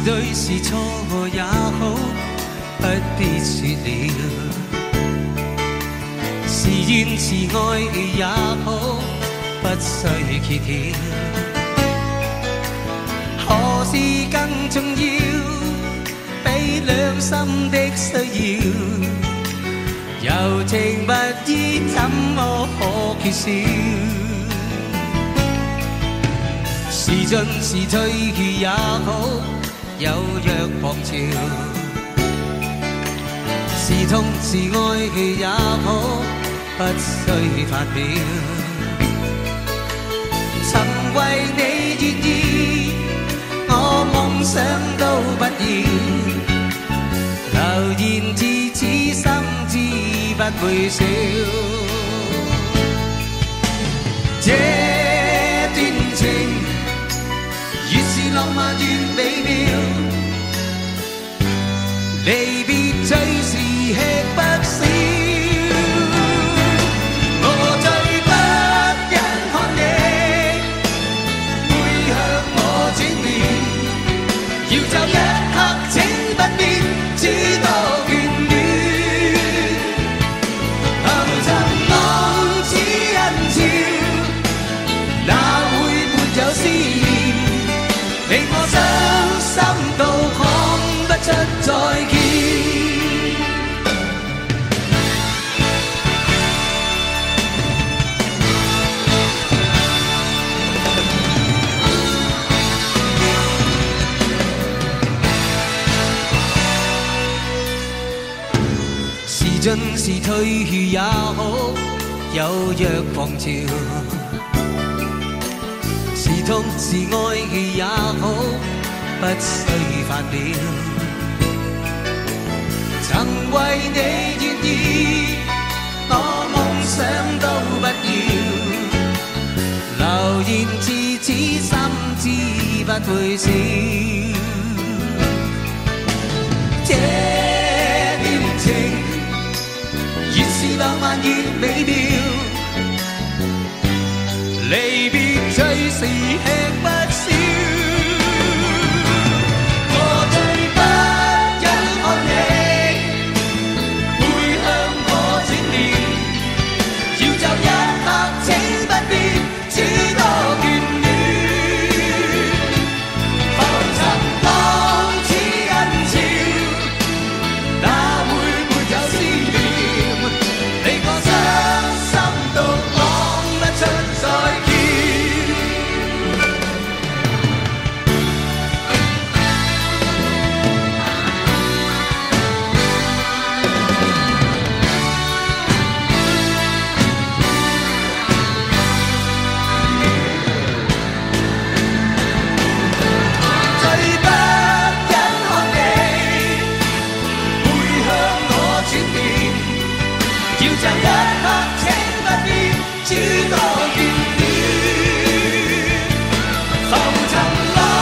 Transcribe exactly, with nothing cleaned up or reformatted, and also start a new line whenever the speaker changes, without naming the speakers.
對是錯也好，不必說了。是怨是愛也好，不需揭曉。何事更重要？比兩心的需要，柔情蜜意怎麼可缺少？是進是退也好，有若狂潮。是痛是愛也好，不需發表。曾為你願意，我夢想都不要，留言至此心知不會少。這段情越是浪漫越美妙，離別最是吃不消。我最不忍看你背向我轉面，要就一刻請不必諸多眷戀。浮沉浪似人潮，哪會沒有思念？令我傷心到講不出再見。是進是退也好，有若狂潮。是痛是愛也好，不需發表。曾為你願意，我夢想都不要，留言至此心知不會少。這段情越是浪漫越美妙，離別最是吃不消。我最不忍看你背向我轉面，要就一刻請不必諸多眷戀。浮沉浪似人潮，哪會沒有思念？令我傷心到講不出再見。最不忍看你背向我轉面，要就一刻請不必諸多眷戀。浮沉浪